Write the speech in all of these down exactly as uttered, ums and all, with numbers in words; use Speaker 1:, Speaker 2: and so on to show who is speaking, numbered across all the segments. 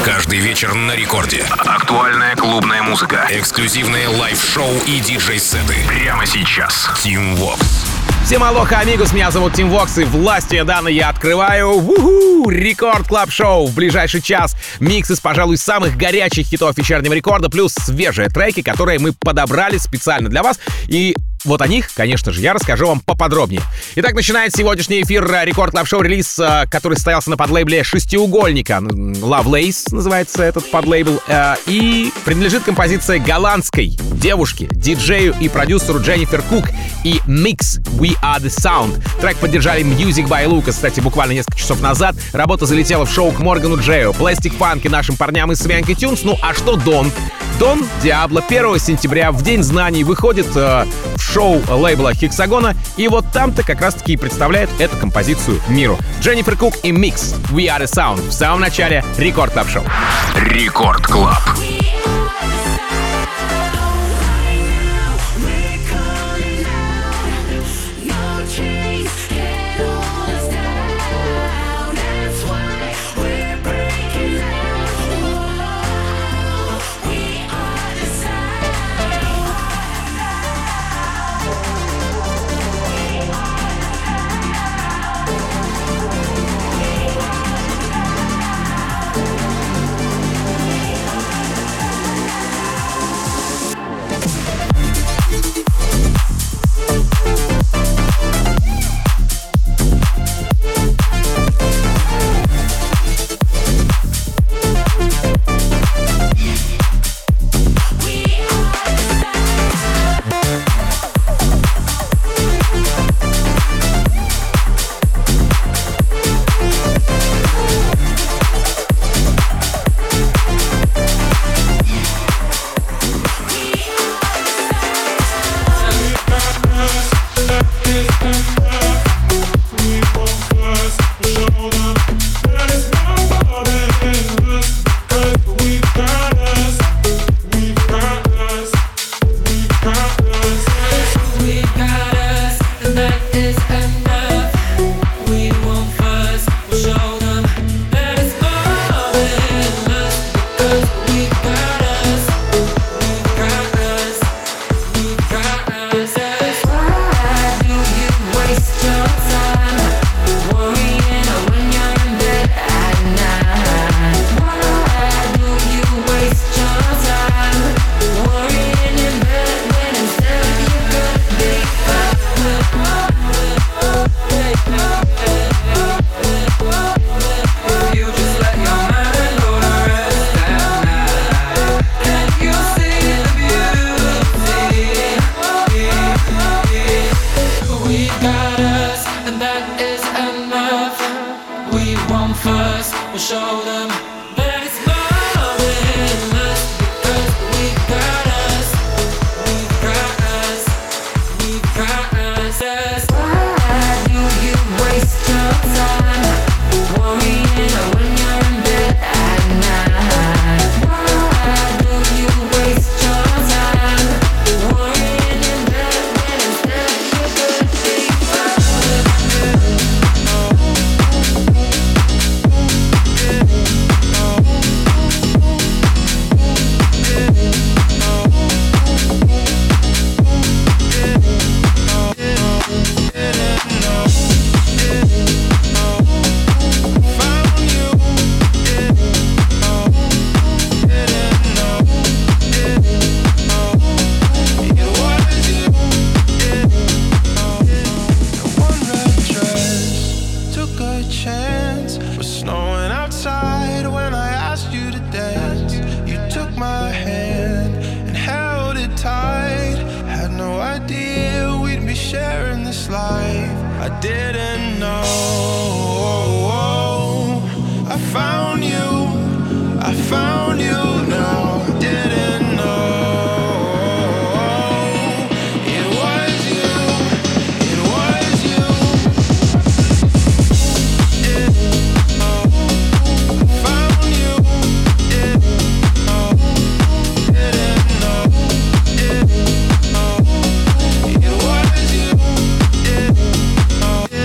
Speaker 1: Каждый вечер на рекорде. Актуальная клубная музыка. Эксклюзивные лайв-шоу и диджей-сеты. Прямо сейчас. Team Vox.
Speaker 2: Всем алоха, амигос, меня зовут Team Vox, и властью данной я открываю уху, Рекорд Клаб Шоу. В ближайший час микс из, пожалуй, самых горячих хитов вечернего рекорда, плюс свежие треки, которые мы подобрали специально для вас. И вот о них, конечно же, я расскажу вам поподробнее. Итак, начинает сегодняшний эфир Рекорд Клаб Шоу релиз, который состоялся на подлейбле «Шестиугольника». Lovelace называется этот подлейбл. И принадлежит композиция голландской девушки, диджею и продюсеру Дженнифер Кук и Mix We Are The Sound. Трек поддержали Music by Lucas. Кстати, буквально несколько часов назад работа залетела в шоу к Моргану Джею, Plastic Funk и нашим парням из Свянки Тюнс. Ну а что Дон? Дон Диабло первого сентября в День знаний выходит э, в шоу лейбла Hexagona, и вот там-то как раз-таки и представляет эту композицию миру. Дженнифер Кук и Mix We Are The Sound в самом начале Рекорд Клаб Шоу.
Speaker 1: Рекорд Клаб.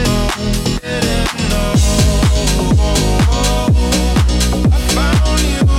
Speaker 3: Found you.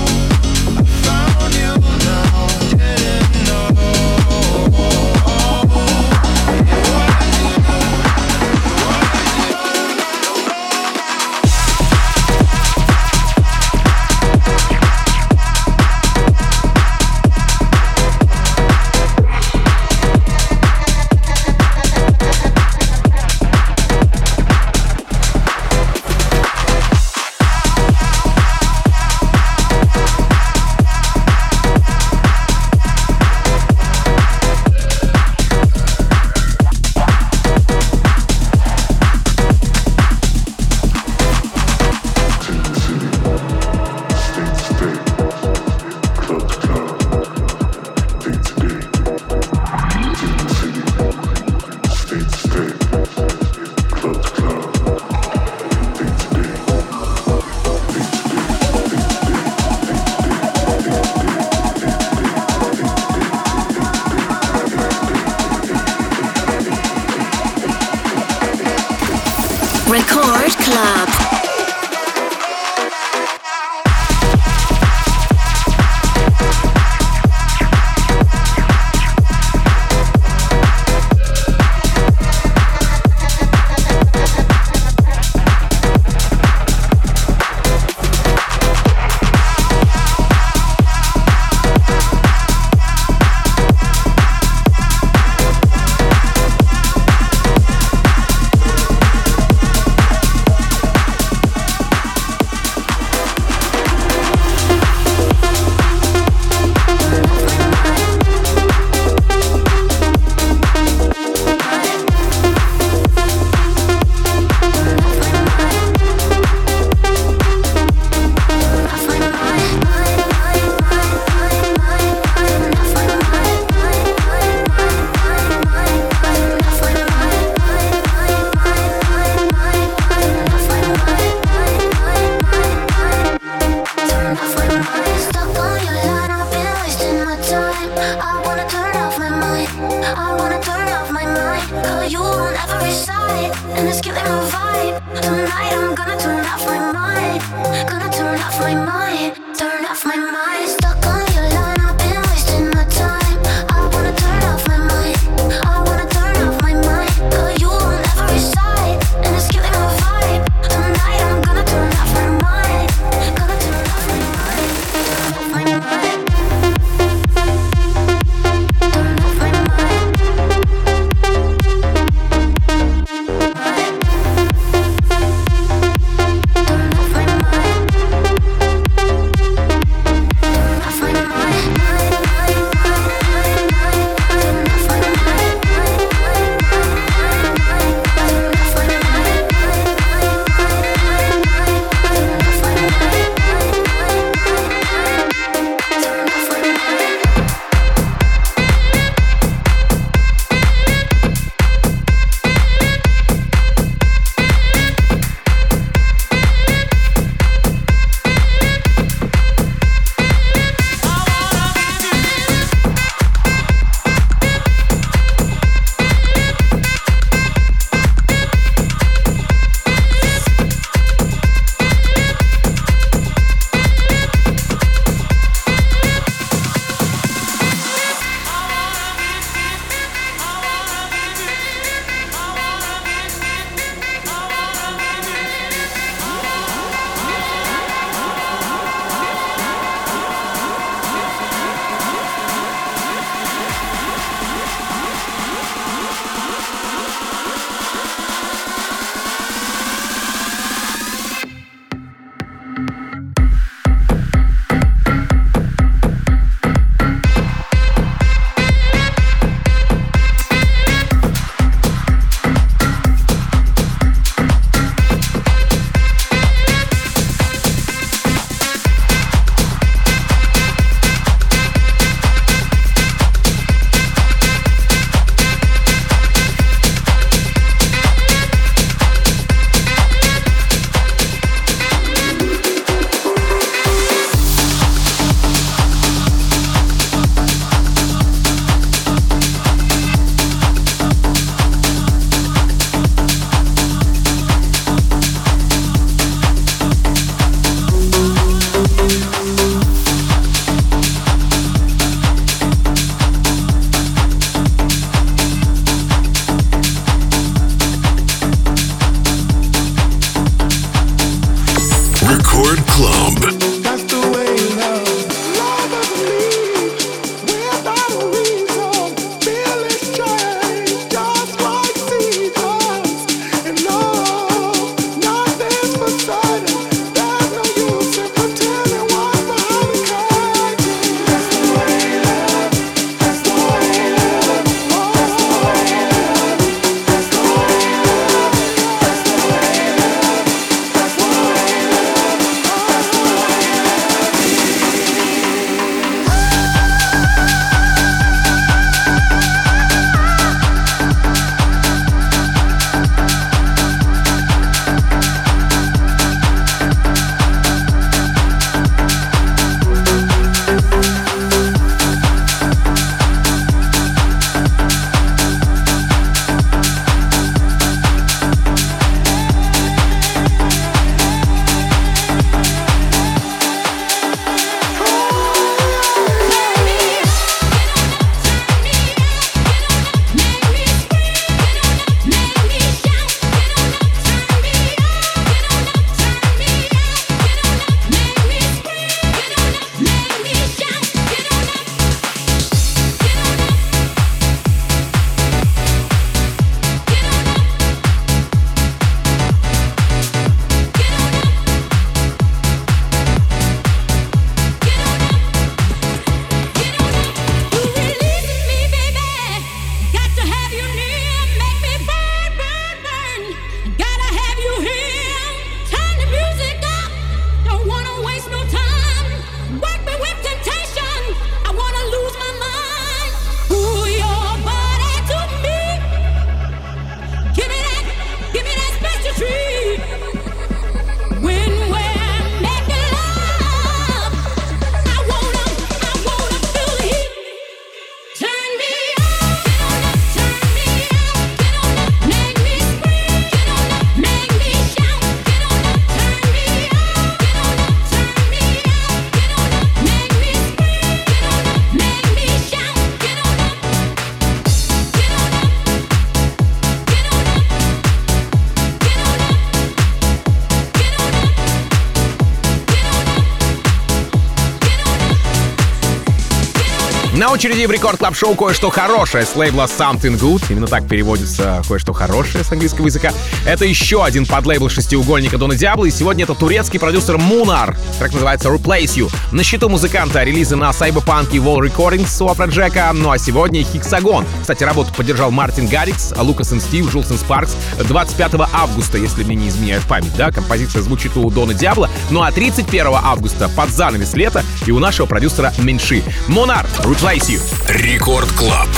Speaker 2: На очереди в Рекорд Клаб Шоу кое-что хорошее с лейбла Something Good. Именно так переводится кое-что хорошее с английского языка. Это еще один подлейбл шестиугольника Дона Диабло, и сегодня это турецкий продюсер Munar. Трек называется Replace You. На счету музыканта релизы на Cyberpunk и Wall Recordings у Афроджека. Ну а сегодня Hexagon. Кстати, работу поддержал Мартин Гаррикс, Лукас и Стив, Джулсон Спаркс. двадцать пятого августа, если мне не изменяет память, да, композиция звучит у Дона Диабло. Ну а тридцать первого августа под занавес лета и у нашего продюсера Меньши. Munar, Replace You.
Speaker 1: Рекорд Клаб.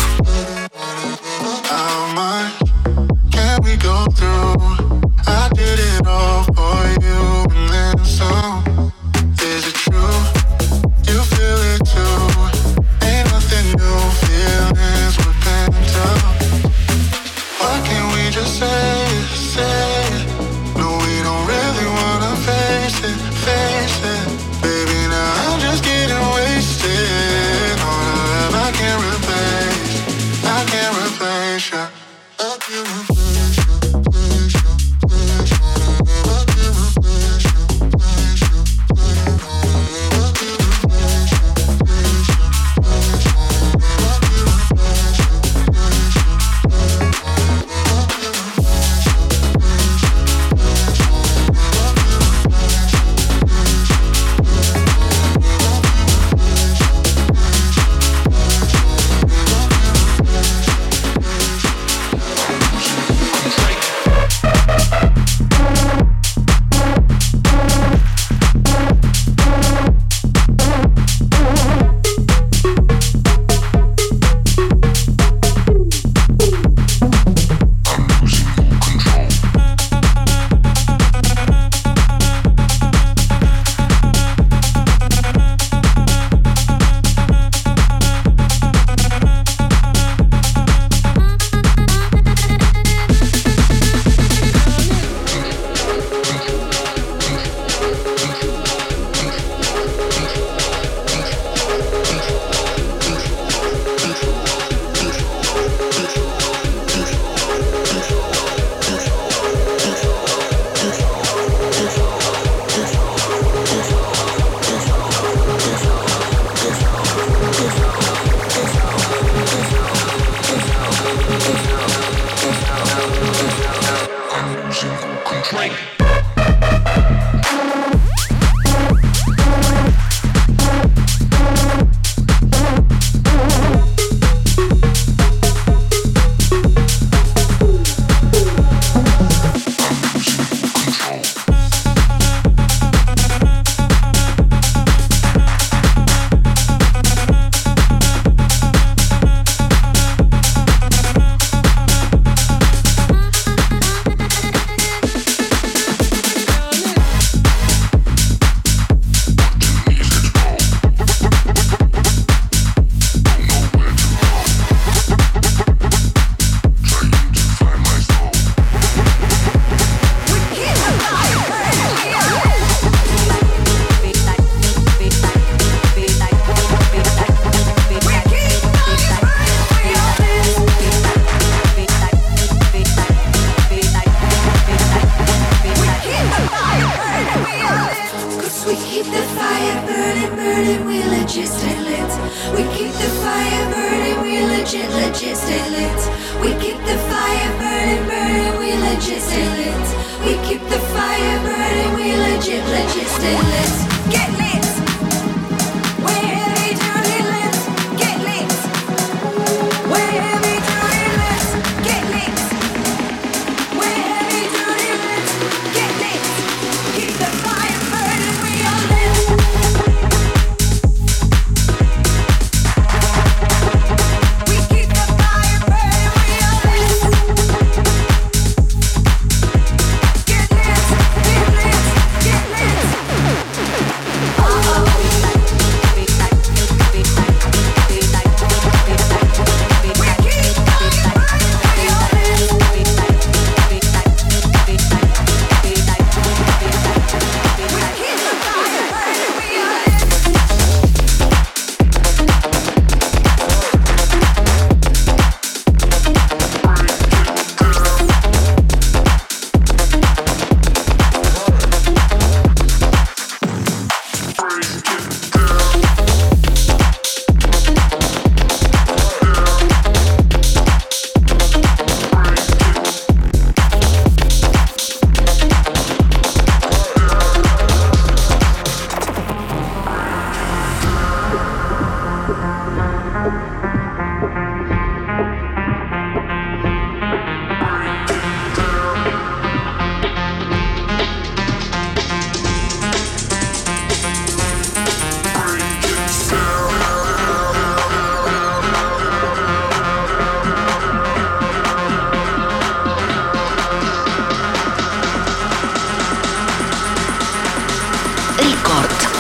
Speaker 3: Oh!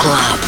Speaker 3: Club.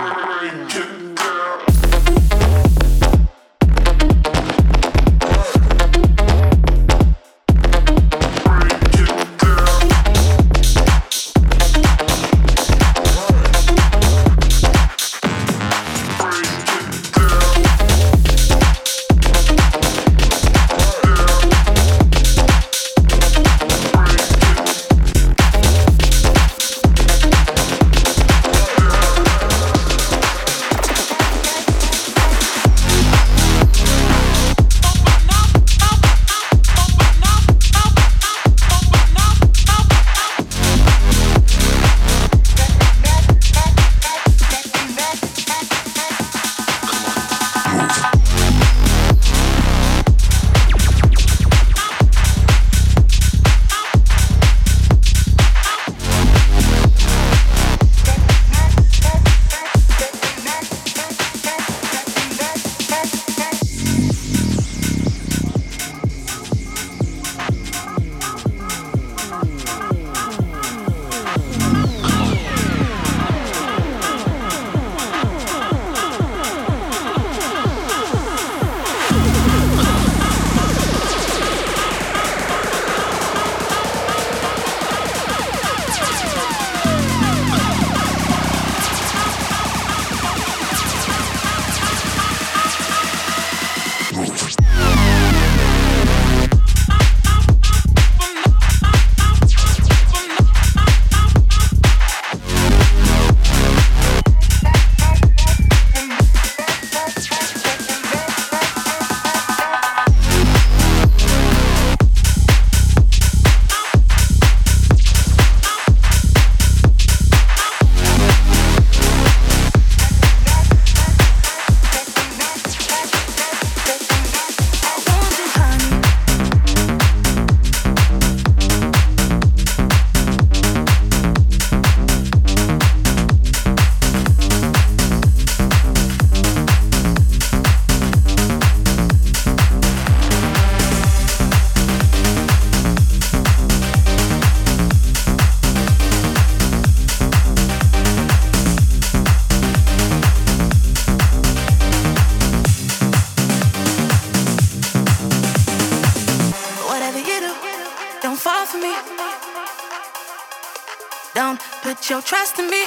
Speaker 4: Put your trust in me.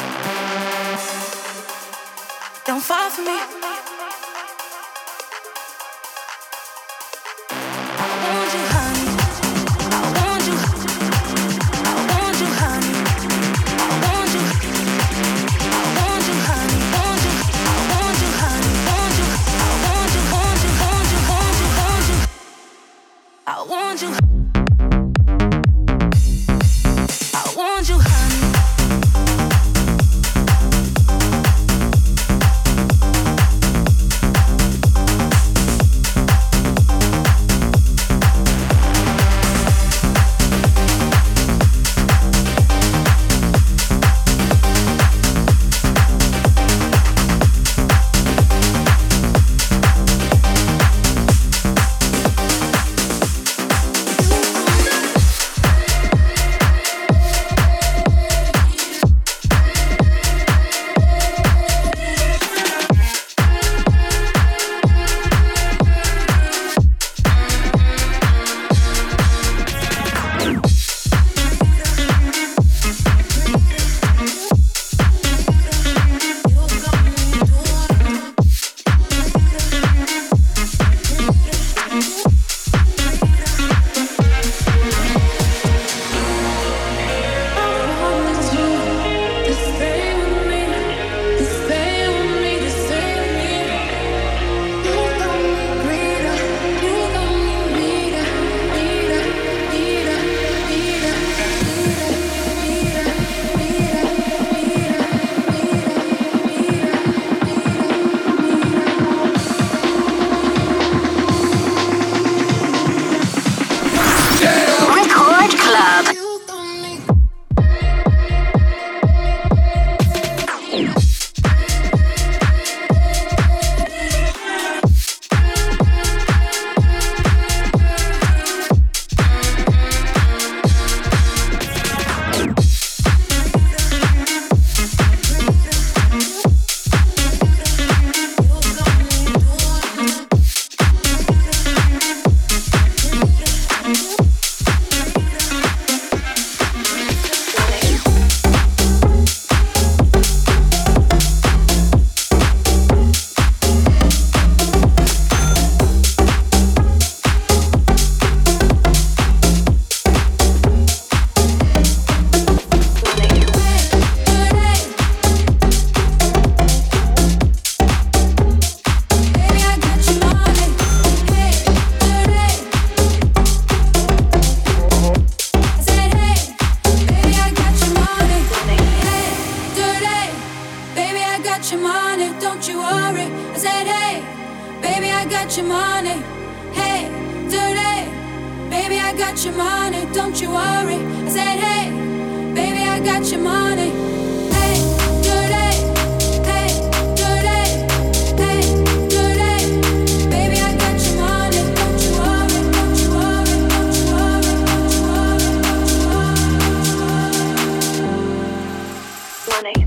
Speaker 4: Don't fall for me. I want you, honey. I want you. I want you, honey. I want you. I want you, honey. Want you. I want you, honey. Want you. I want you. Want you. Want you. Want you. Want you. I want you. I want you, honey. got your money, don't you worry. I said, hey, baby, I got your money. Hey, dirty, baby, I got your money, don't you worry. I said, hey, baby, I got your money. Hey, dirty, hey, dirty, hey, dirty, baby, I got your money, don't you worry, don't you worry, don't you worry, don't you worry, don't you worry, don't you worry. Money.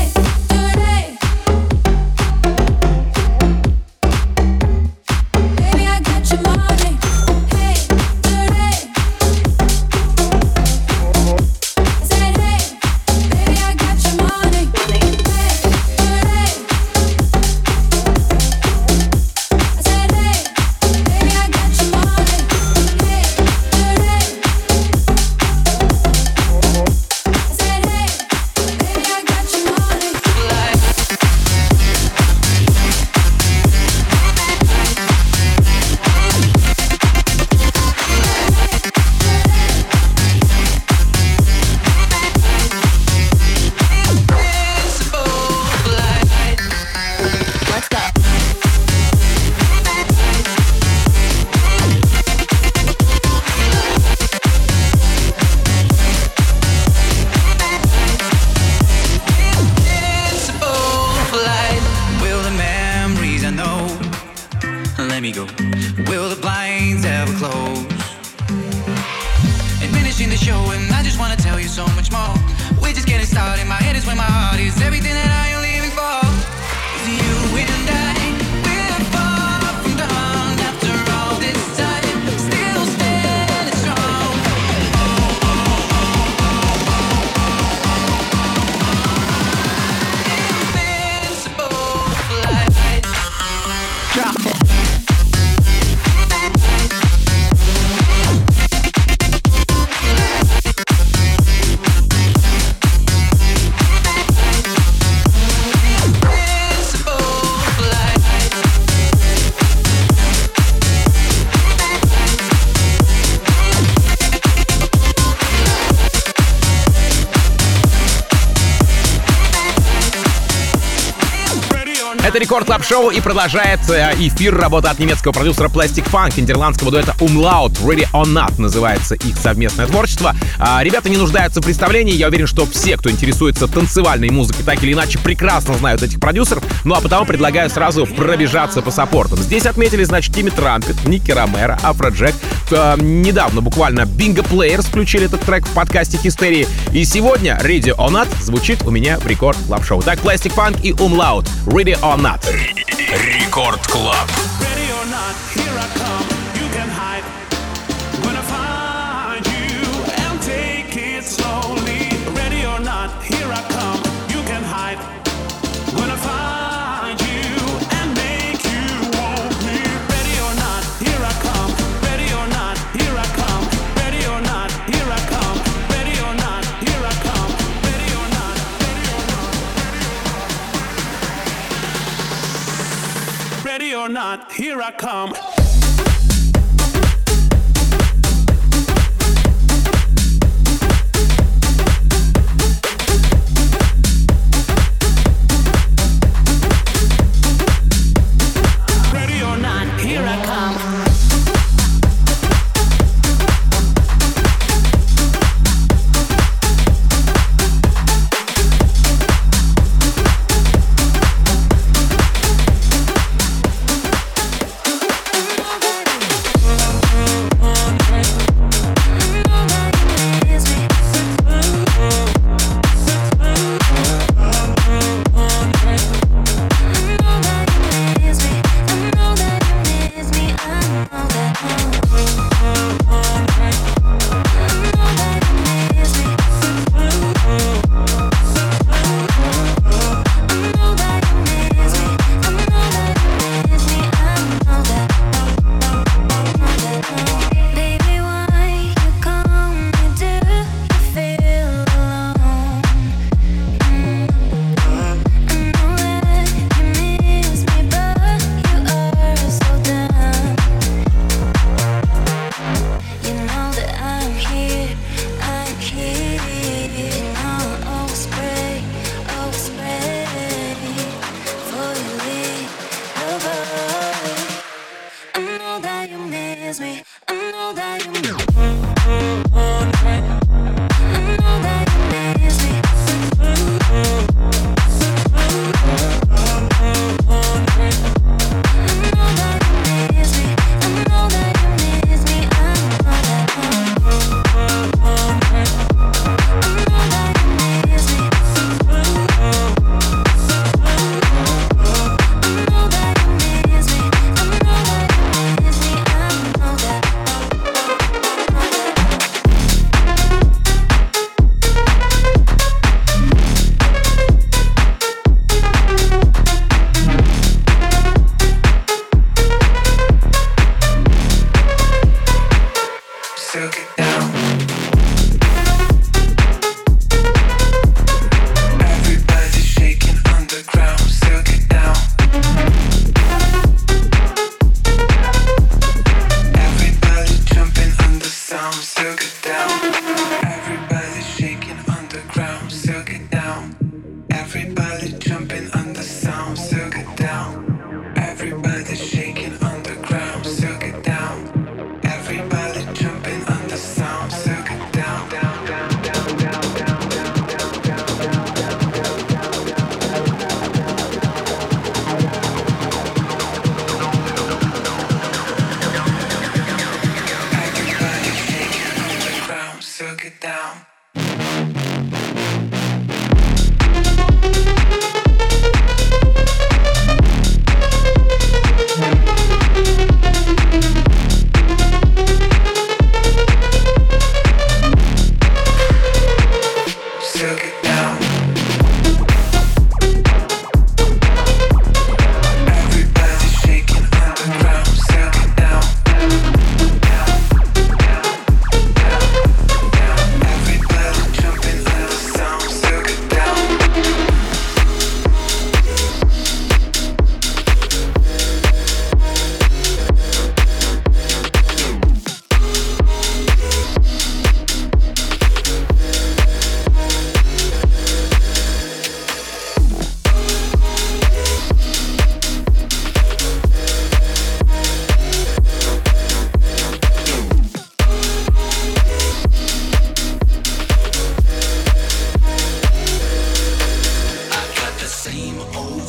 Speaker 2: Это Рекорд Клаб Шоу, и продолжает эфир работа от немецкого продюсера Plastic Funk, нидерландского дуэта Umlaut. Ready or Not называется их совместное творчество. А, ребята не нуждаются в представлении. Я уверен, что все, кто интересуется танцевальной музыкой, так или иначе прекрасно знают этих продюсеров. Ну а потому предлагаю сразу пробежаться по саппортам. Здесь отметили, значит, Тимми Трампет, Ники Ромеро, Афроджек. А, недавно буквально Bingo Players включили этот трек в подкасте Хистерии. И сегодня Ready or Not звучит у меня в Рекорд Клаб Шоу. Так, Plastic Funk и Umlaut. Ready or Not.
Speaker 1: Рекорд Клаб.
Speaker 3: Ready or not, here I come. You can hide when I find you and take it slowly. Ready or not, here I come. You can hide when I find you and make you want me. Ready or not, here I come. Ready or not, here I come. Ready or not, here I come. Ready or not, here I come. Ready or not, ready or not, ready or not, here I come. Ready or not, here I come.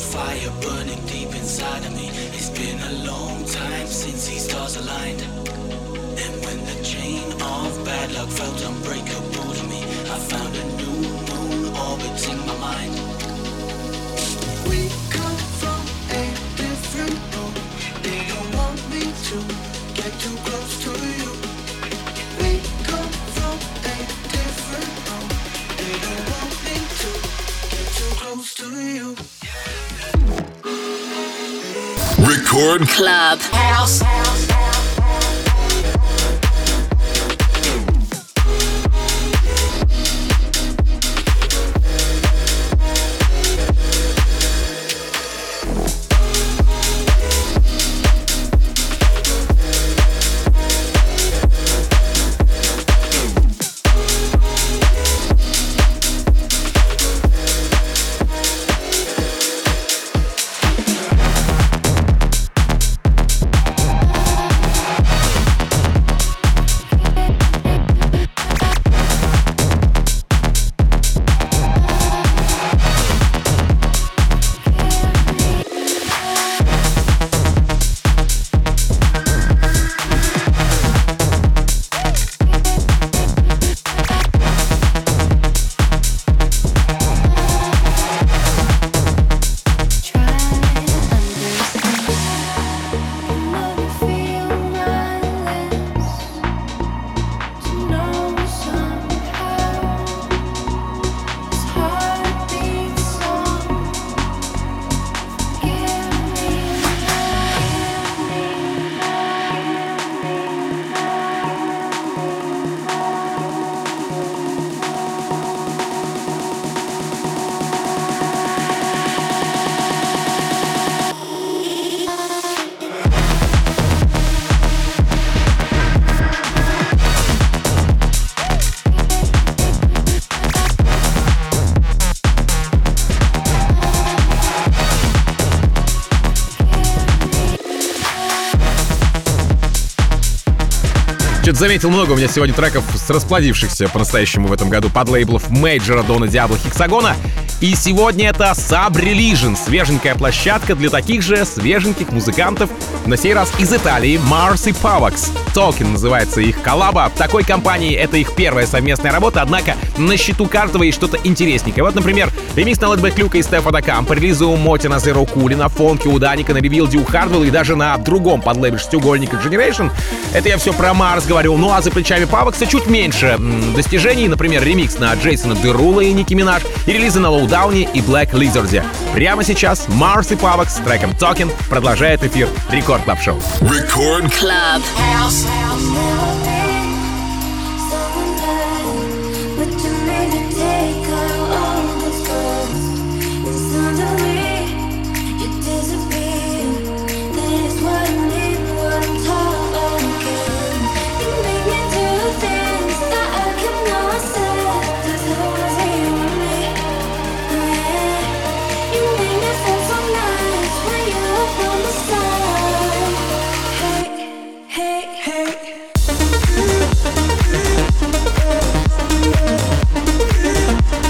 Speaker 5: fire burning deep inside of me. It's been a long time since these stars aligned. And when the chain of bad luck felt unbreakable to me, I found a new moon orbiting my mind. We come from a different room. They don't want me to get too close to you. We come from a different room. They don't want me to get too close to you.
Speaker 1: Record
Speaker 6: Club House.
Speaker 2: Что-то заметил много у меня сегодня треков с расплодившихся по-настоящему в этом году под лейблов Мейджора, Дона Диабло, Хексагона. И сегодня это Sub Religion, свеженькая площадка для таких же свеженьких музыкантов, на сей раз из Италии, Mars и Pavax. Talking называется их коллаба. В такой компании это их первая совместная работа, однако на счету каждого есть что-то интересненькое. Вот, например, ремикс на Лэтбэк Люка и Стефа Дакам, по релизу Моти на Zero Cool, на фонке у Даника, на ребилде у Хардвелла и даже на другом подлейбле шестиугольника Generation. Это я все про Mars говорю. Ну а за плечами Pavax чуть меньше м- достижений. Например, ремикс на Джейсона Дерула и Ники Минаж, и релизы на Lowdownie и Black Lizard. Прямо сейчас Mars и Pavax с треком Talking продолжает эфир Рекорд Клаб Шоу.
Speaker 1: Record
Speaker 6: Club House.
Speaker 5: Hey, hey.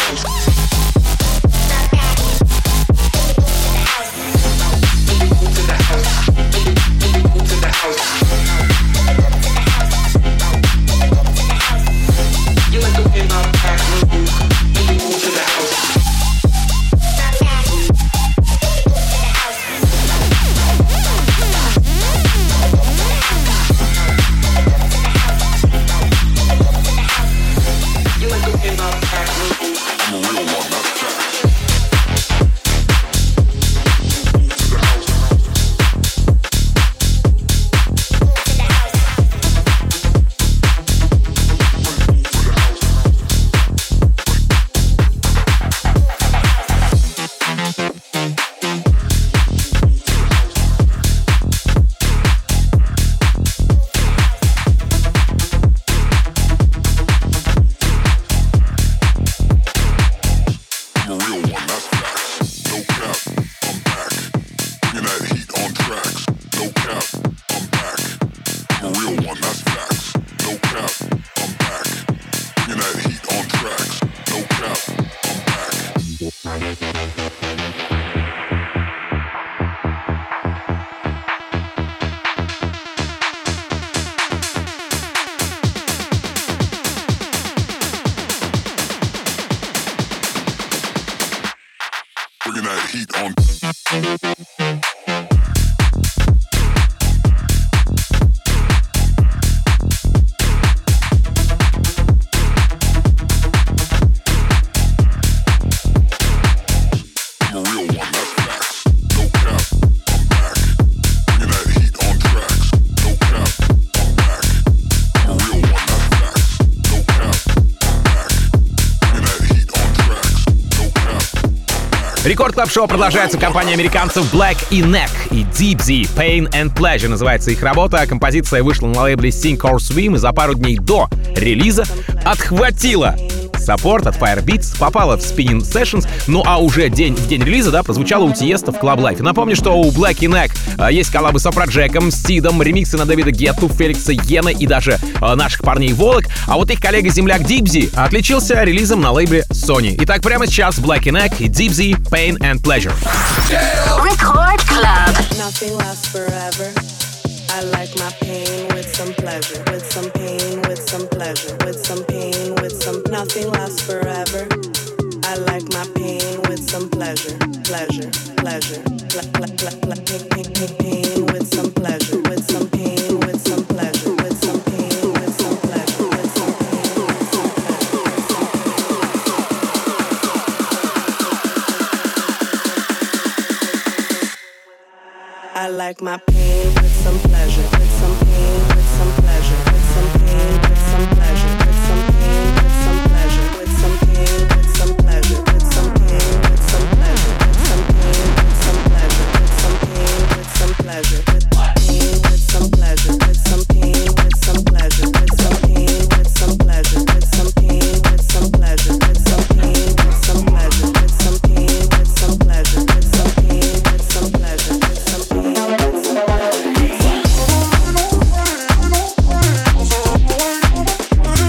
Speaker 2: Рекорд Клаб Шоу продолжается. Компания американцев Black и Neck и Deep Z Pain and Pleasure называется их работа. Композиция вышла на лейбле Sink or Swim и за пару дней до релиза отхватила саппорт от Firebeats, попала в Spinning Sessions, ну а уже день, в день релиза, да, прозвучала у Тиеста в Club Life. Напомню, что у Black и Neck а, есть коллабы с Афроджеком, с Сидом, ремиксы на Дэвида Гетту, Феликса Йена и даже а, наших парней Волок, а вот их коллега-земляк Дипзи отличился релизом на лейбле Sony. Итак, прямо сейчас Black и Neck и Дипзи Pain and Pleasure.
Speaker 6: Record Club.
Speaker 7: Nothing lasts forever. I like my pain with some pleasure, with some pain, with some pleasure, with some pain, with some. Nothing lasts forever. I like my pain with some pleasure, pleasure, pleasure, pl- pl- pl- pl- pain, pain, pain, pain with some pleasure, with some pain, with some pleasure, with some pain, with some pleasure, with some pain, with some pleasure. I like my pain with some pleasure, with some pain, with some pleasure, with some pain, with some pleasure, with some pain, with some pleasure, with some pain, with some pleasure, with some pain, with some pleasure, with some pain, with some pleasure, with some pain, with some pleasure, with pain, with some pleasure, with some pain, with some pleasure, with some pain, with some pleasure, with some pain, with some pleasure, with some pain, with some pleasure, with some pain, with some pleasure, with some pain, with some pleasure, with some pain. With some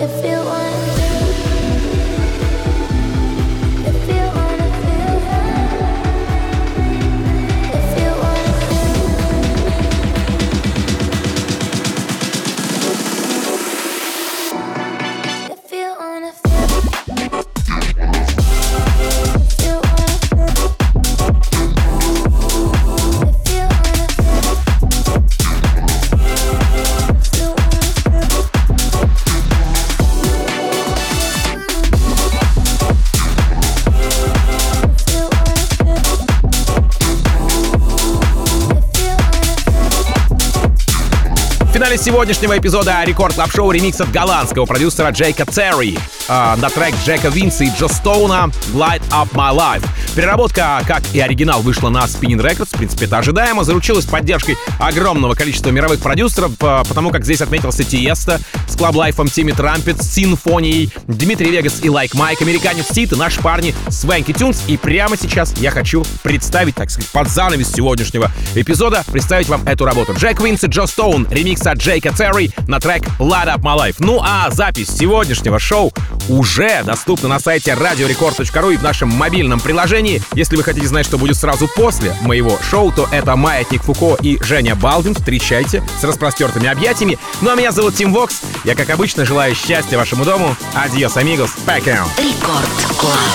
Speaker 2: Сегодняшнего эпизода Рекорд Клаб Шоу ремикс от голландского продюсера Джейка Терри э, на трек Джека Винса и Джо Стоуна «Light Up My Life». Переработка, как и оригинал, вышла на Spinnin' Records, в принципе, это ожидаемо, заручилась поддержкой огромного количества мировых продюсеров, э, потому как здесь отметился Тиеста с Club Life'ом, Тимми Трампет, с Симфонией, Дмитрий Вегас и Like Mike, американец Сит и наши парни Свенки Тюнс. И прямо сейчас я хочу представить, так сказать, под занавес сегодняшнего эпизода, представить вам эту работу. Джек Винс и Джо Стоун, ремикс от Джейка Терри на трек Light Up My Life. Ну а запись сегодняшнего шоу уже доступна на сайте радио рекорд точка ру и в нашем мобильном приложении. Если вы хотите знать, что будет сразу после моего шоу, то это Маятник Фуко и Женя Балдин. Встречайте с распростертыми объятиями. Ну а меня зовут Тим Вокс. Я, как обычно, желаю счастья вашему дому. Адьос, амигос. Пока.
Speaker 6: Рекорд Клаб.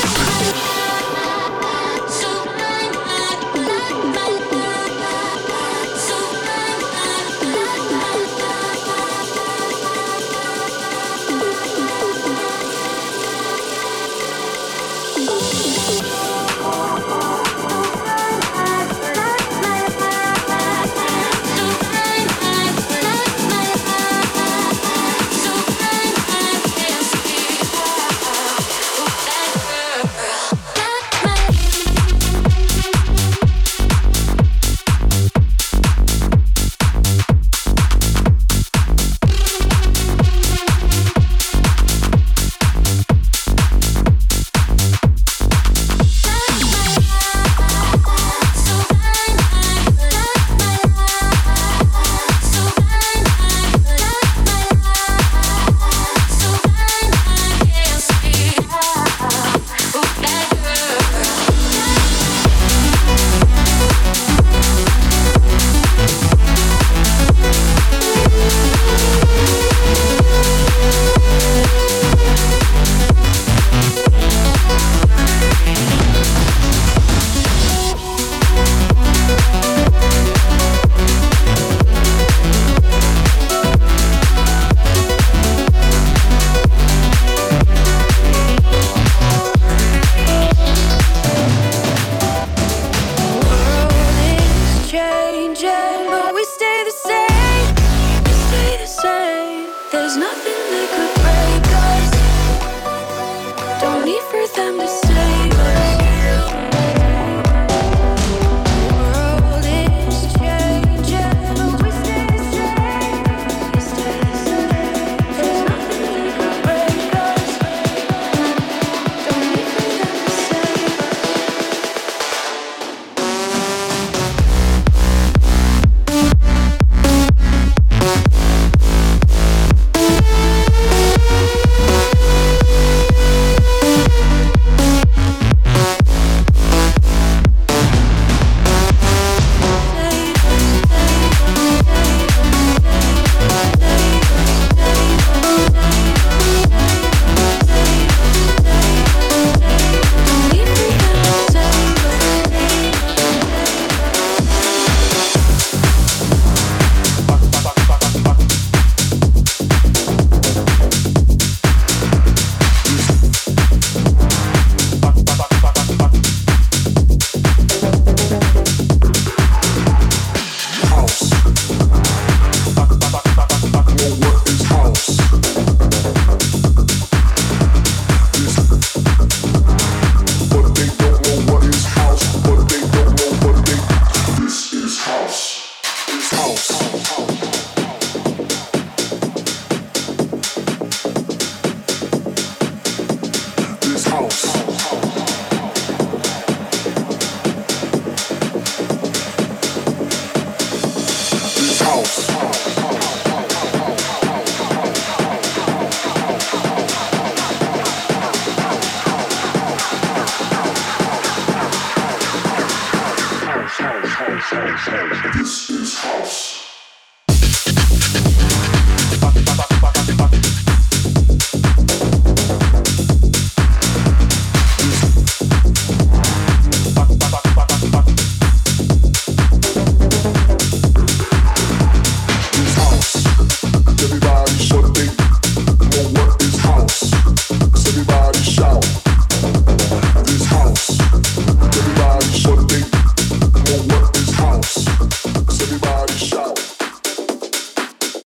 Speaker 8: house.